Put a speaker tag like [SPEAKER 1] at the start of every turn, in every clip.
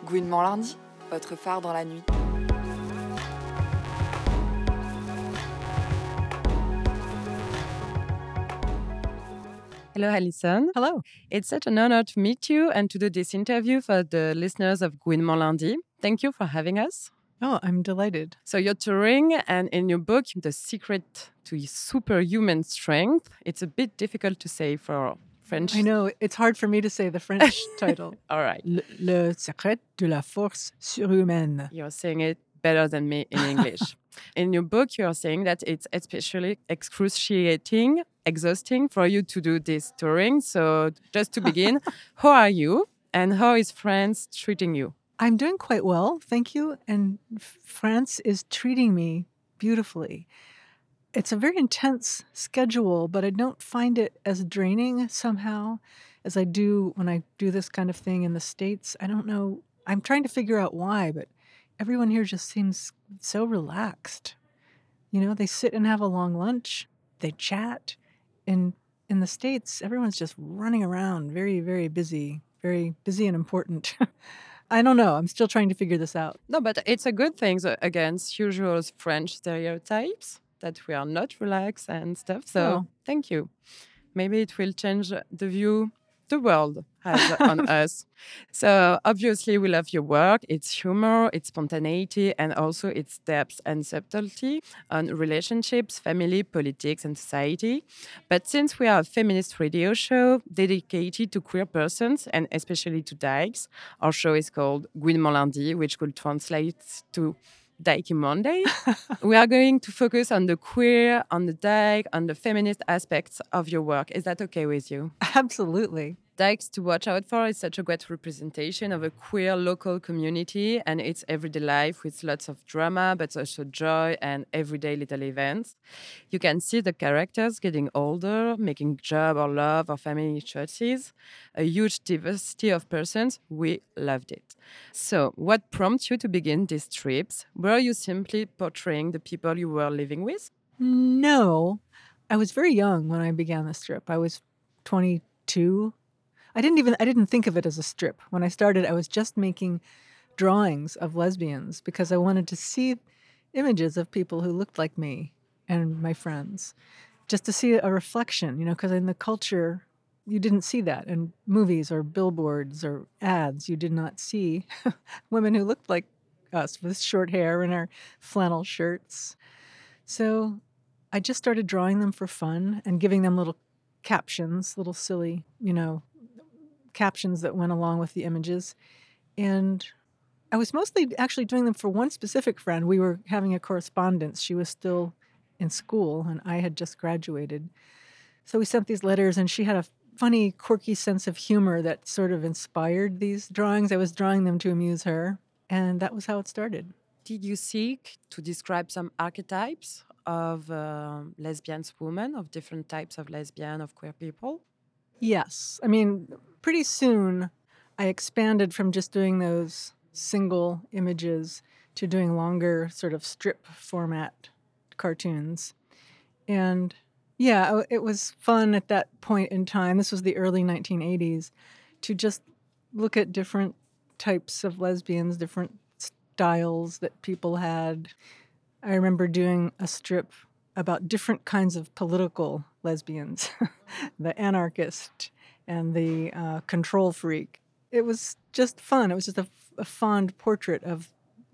[SPEAKER 1] Gouinement lundi, votre phare dans la nuit.
[SPEAKER 2] Hello, Alison.
[SPEAKER 3] Hello.
[SPEAKER 2] It's such an honor to meet you and to do this interview for the listeners of Gouinement lundi. Thank you for having us.
[SPEAKER 3] Oh, I'm delighted.
[SPEAKER 2] So you're touring, and in your book, The Secret to Superhuman Strength, it's a bit difficult to say for French.
[SPEAKER 3] I know, it's hard for me to say the French title.
[SPEAKER 2] All right.
[SPEAKER 3] Le secret de la force surhumaine.
[SPEAKER 2] You're saying it better than me in English. In your book, you're saying that it's especially excruciating, exhausting for you to do this touring. So just to begin, how are you and how is France treating you?
[SPEAKER 3] I'm doing quite well, thank you. And France is treating me beautifully. It's a very intense schedule, but I don't find it as draining somehow as I do when I do this kind of thing in the States. I don't know. I'm trying to figure out why, but everyone here just seems so relaxed. You know, they sit and have a long lunch, they chat. In the States, everyone's just running around, very, very busy and important. I don't know. I'm still trying to figure this out.
[SPEAKER 2] No, but it's a good thing against usual French stereotypes that we are not relaxed and stuff. So Thank you. Maybe it will change the view the world has on us. So obviously we love your work, its humor, its spontaneity, and also its depth and subtlety on relationships, family, politics, and society. But since we are a feminist radio show dedicated to queer persons, and especially to dykes, our show is called Gouinement lundi, which could translate to Dykey Monday. We are going to focus on the queer, on the dyke, on the feminist aspects of your work. Is that okay with you?
[SPEAKER 3] Absolutely.
[SPEAKER 2] Dykes to watch out for is such a great representation of a queer local community and its everyday life with lots of drama, but also joy and everyday little events. You can see the characters getting older, making job or love or family choices, a huge diversity of persons. We loved it. So, what prompted you to begin these trips? Were you simply portraying the people you were living with?
[SPEAKER 3] No. I was very young when I began this trip. I was 22. I didn't think of it as a strip. When I started, I was just making drawings of lesbians because I wanted to see images of people who looked like me and my friends, just to see a reflection, you know, because in the culture, you didn't see that. In movies or billboards or ads, you did not see women who looked like us with short hair and our flannel shirts. So I just started drawing them for fun and giving them little captions, little silly, you know, captions that went along with the images. And I was mostly actually doing them for one specific friend. We were having a correspondence. She was still in school and I had just graduated. So we sent these letters and she had a funny, quirky sense of humor that sort of inspired these drawings. I was drawing them to amuse her, and that was how it started.
[SPEAKER 2] Did you seek to describe some archetypes of lesbian women, of different types of lesbian, of queer people?
[SPEAKER 3] Yes. I mean, pretty soon I expanded from just doing those single images to doing longer sort of strip format cartoons. And yeah, it was fun at that point in time. This was the early 1980s to just look at different types of lesbians, different styles that people had. I remember doing a strip about different kinds of political lesbians, the anarchist and the control freak. It was just fun. It was just a fond portrait of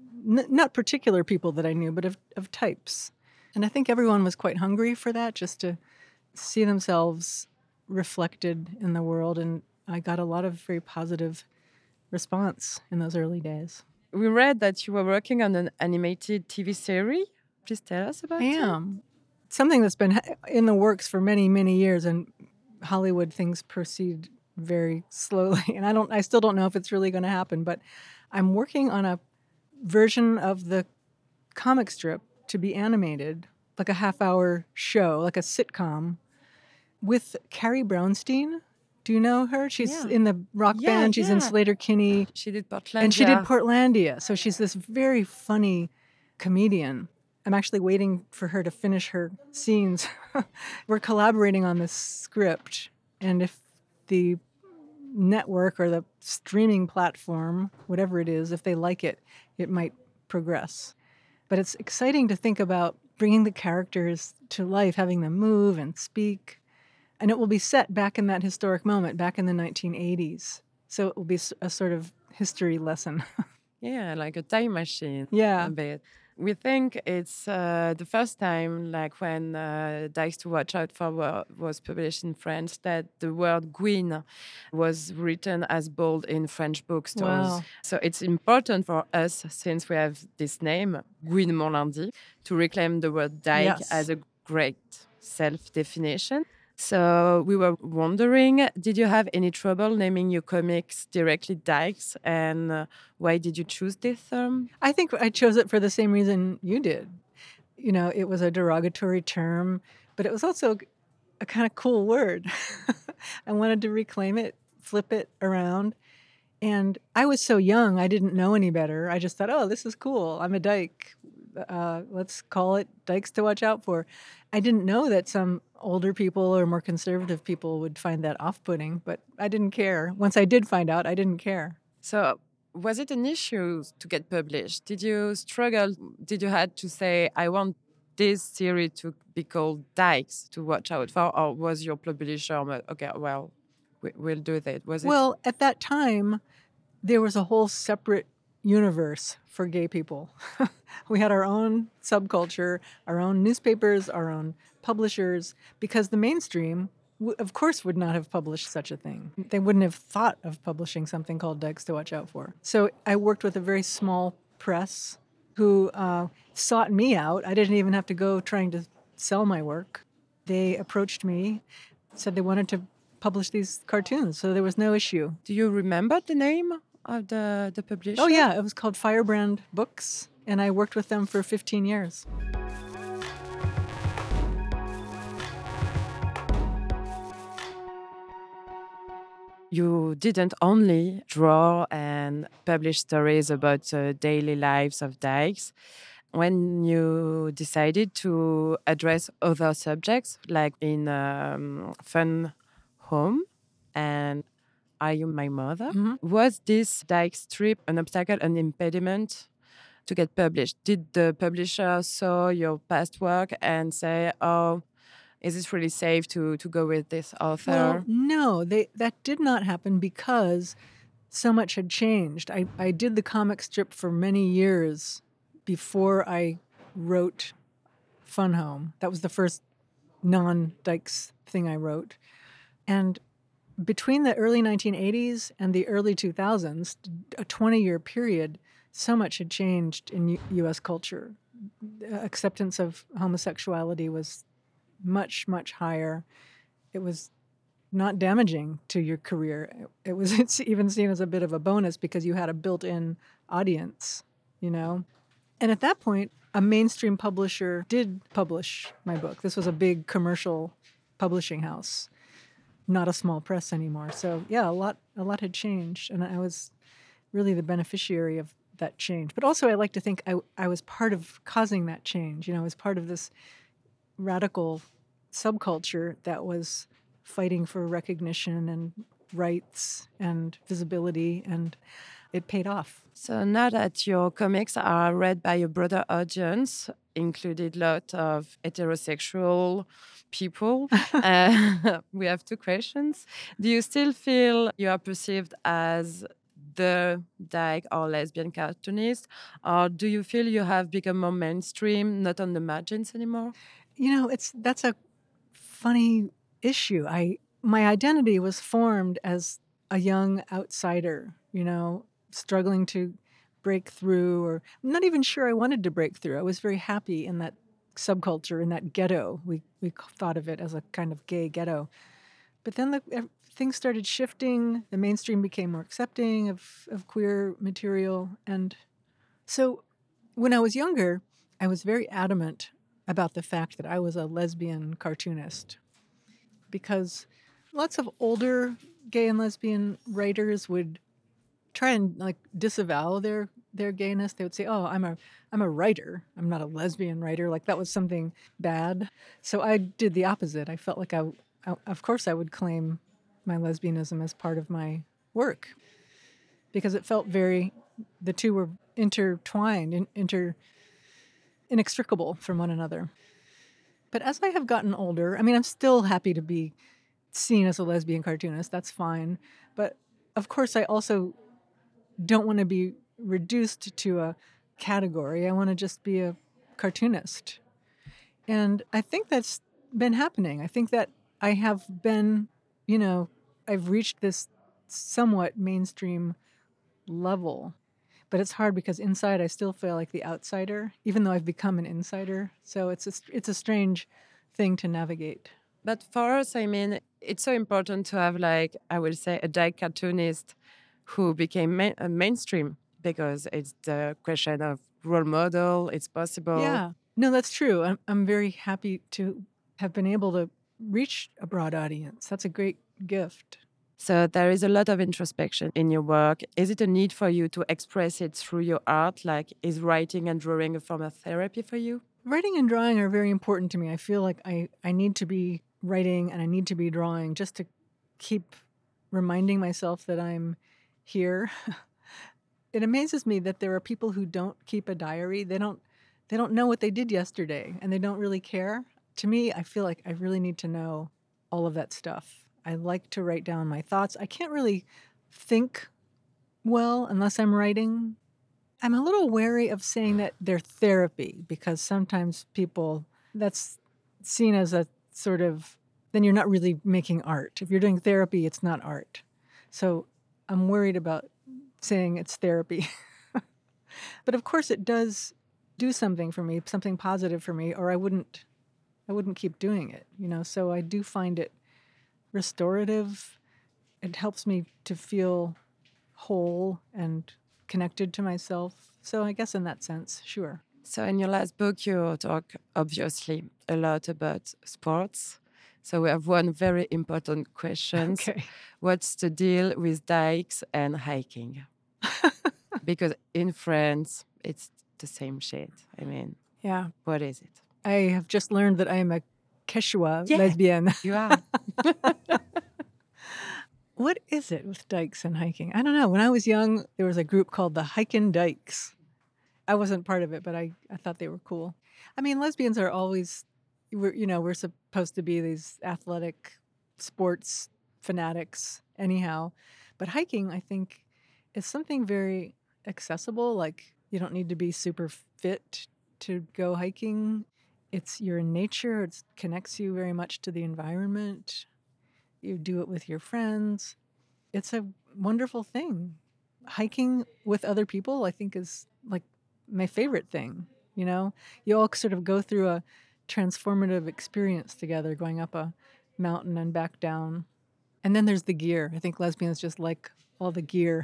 [SPEAKER 3] not particular people that I knew, but of types. And I think everyone was quite hungry for that, just to see themselves reflected in the world. And I got a lot of very positive response in those early days.
[SPEAKER 2] We read that you were working on an animated TV series. Please tell us about it.
[SPEAKER 3] I am. Something that's been in the works for many, many years, and Hollywood things proceed very slowly. And I still don't know if it's really going to happen, but I'm working on a version of the comic strip to be animated, like a half-hour show, like a sitcom, with Carrie Brownstein. Do you know her? She's in the rock band. She's in Sleater-Kinney.
[SPEAKER 2] She did Portlandia.
[SPEAKER 3] And she did Portlandia. So she's this very funny comedian. I'm actually waiting for her to finish her scenes. We're collaborating on this script. And if the network or the streaming platform, whatever it is, if they like it, it might progress. But it's exciting to think about bringing the characters to life, having them move and speak. And it will be set back in that historic moment, back in the 1980s. So it will be a sort of history lesson.
[SPEAKER 2] Yeah, like a time machine.
[SPEAKER 3] Yeah.
[SPEAKER 2] A bit. We think it's the first time, like when Dykes to Watch Out For was published in French, that the word Gwyn was written as bold in French bookstores.
[SPEAKER 3] Wow.
[SPEAKER 2] So it's important for us, since we have this name, Gwyn Morlandi, to reclaim the word dyke
[SPEAKER 3] Yes.
[SPEAKER 2] as a great self-definition. So we were wondering, did you have any trouble naming your comics directly Dykes, and why did you choose this term?
[SPEAKER 3] I think I chose it for the same reason you did. You know, it was a derogatory term, but it was also a kind of cool word. I wanted to reclaim it, flip it around. And I was so young, I didn't know any better. I just thought, oh, this is cool. I'm a dyke. Let's call it Dykes to Watch Out For. I didn't know that some older people or more conservative people would find that off-putting, but I didn't care. Once I did find out, I didn't care.
[SPEAKER 2] So was it an issue to get published? Did you struggle? Did you had to say, I want this series to be called Dykes to Watch Out For? Or was your publisher, okay, well, we'll do that? Was it?
[SPEAKER 3] Well, at that time, there was a whole separate universe for gay people. We had our own subculture, our own newspapers, our own publishers, because the mainstream, of course, would not have published such a thing. They wouldn't have thought of publishing something called Dykes to Watch Out For. So I worked with a very small press who sought me out. I didn't even have to go trying to sell my work. They approached me, said they wanted to publish these cartoons, so there was no issue.
[SPEAKER 2] Do you remember the name of the publisher?
[SPEAKER 3] Oh, yeah, it was called Firebrand Books, and I worked with them for 15 years.
[SPEAKER 2] You didn't only draw and publish stories about the daily lives of dykes. When you decided to address other subjects, like in Fun Home and Are You My Mother, was this dyke strip an obstacle, an impediment to get published? Did the publisher saw your past work and say, oh, is it really safe to go with this author?
[SPEAKER 3] Well, no, that did not happen because so much had changed. I did the comic strip for many years before I wrote Fun Home. That was the first non-Dykes thing I wrote. And between the early 1980s and the early 2000s, a 20-year period, so much had changed in U.S. culture. Acceptance of homosexuality was much, much higher. It was not damaging to your career. It's even seen as a bit of a bonus because you had a built-in audience, you know? And at that point, a mainstream publisher did publish my book. This was a big commercial publishing house, not a small press anymore. So yeah, a lot had changed, and I was really the beneficiary of that change. But also I like to think I was part of causing that change. You know, I was part of this radical subculture that was fighting for recognition and rights and visibility, and it paid off.
[SPEAKER 2] So now that your comics are read by a broader audience, included a lot of heterosexual people, we have two questions. Do you still feel you are perceived as the dyke or lesbian cartoonist, or do you feel you have become more mainstream, not on the margins anymore?
[SPEAKER 3] You know, that's a funny issue. My identity was formed as a young outsider, you know, struggling to break through, or I'm not even sure I wanted to break through. I was very happy in that subculture, in that ghetto. We thought of it as a kind of gay ghetto. But then things started shifting. The mainstream became more accepting of queer material. And so when I was younger, I was very adamant about the fact that I was a lesbian cartoonist, because lots of older gay and lesbian writers would try and like disavow their gayness. They would say, "Oh, I'm a writer. I'm not a lesbian writer." Like that was something bad. So I did the opposite. I felt like of course I would claim my lesbianism as part of my work because it felt the two were intertwined, inextricable from one another. But as I have gotten older, I mean, I'm still happy to be seen as a lesbian cartoonist. That's fine. But of course, I also don't want to be reduced to a category. I want to just be a cartoonist. And I think that's been happening. I think that I have been, I've reached this somewhat mainstream level. But it's hard because inside I still feel like the outsider, even though I've become an insider. So it's a strange thing to navigate.
[SPEAKER 2] But for us, I mean, it's so important to have, like, I will say, a dyke cartoonist who became mainstream because it's the question of role model, it's possible.
[SPEAKER 3] Yeah, no, that's true. I'm very happy to have been able to reach a broad audience. That's a great gift.
[SPEAKER 2] So there is a lot of introspection in your work. Is it a need for you to express it through your art? Like, is writing and drawing a form of therapy for you?
[SPEAKER 3] Writing and drawing are very important to me. I feel like I need to be writing and I need to be drawing just to keep reminding myself that I'm here. It amazes me that there are people who don't keep a diary. They don't know what they did yesterday and they don't really care. To me, I feel like I really need to know all of that stuff. I like to write down my thoughts. I can't really think well unless I'm writing. I'm a little wary of saying that they're therapy because sometimes that's seen as a sort of, then you're not really making art. If you're doing therapy, it's not art. So I'm worried about saying it's therapy. But of course it does do something for me, something positive for me, or I wouldn't keep doing it, So I do find it restorative. It helps me to feel whole and connected to myself. So I guess in that sense, sure.
[SPEAKER 2] So in your last book, you talk obviously a lot about sports. So we have one very important question.
[SPEAKER 3] Okay.
[SPEAKER 2] What's the deal with dykes and hiking? Because in France, it's the same shit. I mean,
[SPEAKER 3] yeah.
[SPEAKER 2] What is it?
[SPEAKER 3] I have just learned that I am a Quechua lesbian.
[SPEAKER 2] You are.
[SPEAKER 3] What is it with dykes and hiking? I don't know. When I was young, there was a group called the Hikin' Dykes. I wasn't part of it, but I thought they were cool. I mean, lesbians are always, we're supposed to be these athletic sports fanatics anyhow. But hiking, I think, is something very accessible. Like, you don't need to be super fit to go hiking. You're in nature. It connects you very much to the environment. You do it with your friends. It's a wonderful thing. Hiking with other people, I think, is like my favorite thing. You all sort of go through a transformative experience together, going up a mountain and back down. And then there's the gear. I think lesbians just like all the gear.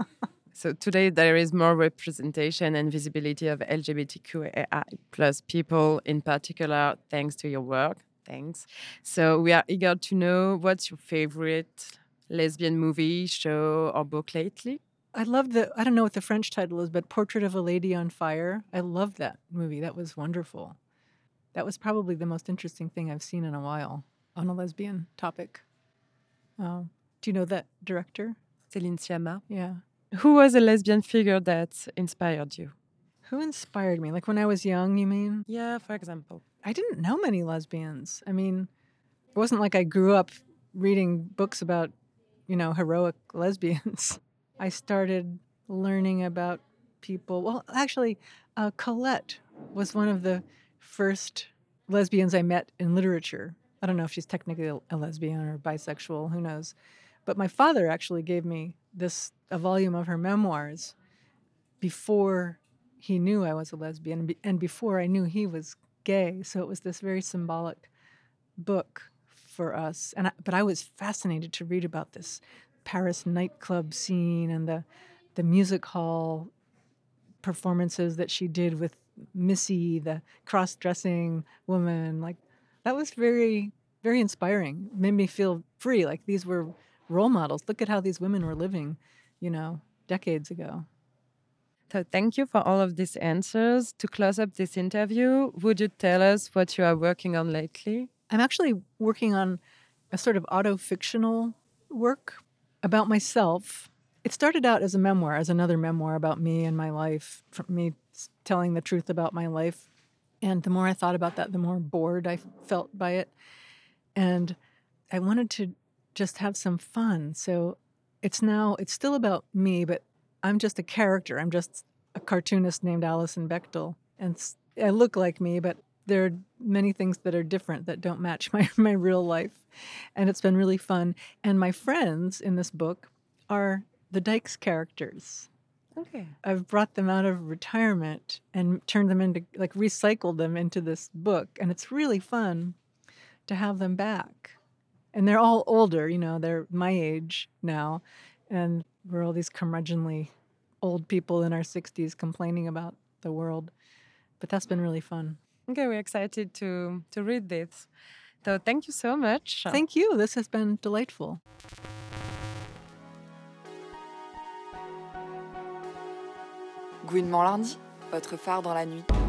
[SPEAKER 2] So today there is more representation and visibility of LGBTQIA plus people in particular, thanks to your work. Thanks. So we are eager to know what's your favorite lesbian movie, show, or book lately?
[SPEAKER 3] I love I don't know what the French title is, but Portrait of a Lady on Fire. I love that movie. That was wonderful. That was probably the most interesting thing I've seen in a while on a lesbian topic. Do you know that director?
[SPEAKER 2] Céline Sciamma.
[SPEAKER 3] Yeah.
[SPEAKER 2] Who was a lesbian figure that inspired you?
[SPEAKER 3] Who inspired me? Like when I was young, you mean?
[SPEAKER 2] Yeah, for example.
[SPEAKER 3] I didn't know many lesbians. I mean, it wasn't like I grew up reading books about, heroic lesbians. I started learning about people. Well, actually, Colette was one of the first lesbians I met in literature. I don't know if she's technically a lesbian or bisexual, who knows. But my father actually gave me a volume of her memoirs before he knew I was a lesbian and before I knew he was gay. So it was this very symbolic book for us. But I was fascinated to read about this Paris nightclub scene and the music hall performances that she did with Missy, the cross-dressing woman. Like, that was very, very inspiring. It made me feel free. Like, these were role models. Look at how these women were living, decades ago.
[SPEAKER 2] So thank you for all of these answers. To close up this interview, would you tell us what you are working on lately?
[SPEAKER 3] I'm actually working on a sort of auto-fictional work about myself. It started out as a memoir, as another memoir about me and my life, from me telling the truth about my life. And the more I thought about that, the more bored I felt by it. And I wanted to just have some fun. So it's still about me, but I'm just a character. I'm just a cartoonist named Alison Bechtel. And I look like me, but there are many things that are different that don't match my real life. And it's been really fun. And my friends in this book are the Dykes characters.
[SPEAKER 2] Okay.
[SPEAKER 3] I've brought them out of retirement and turned them into, recycled them into this book. And it's really fun to have them back. And they're all older, they're my age now. And we're all these curmudgeonly old people in our 60s complaining about the world. But that's been really fun.
[SPEAKER 2] Okay, we're excited to read this. So thank you so much.
[SPEAKER 3] Thank you. This has been delightful.
[SPEAKER 1] Gouinement lundi, votre phare dans la nuit.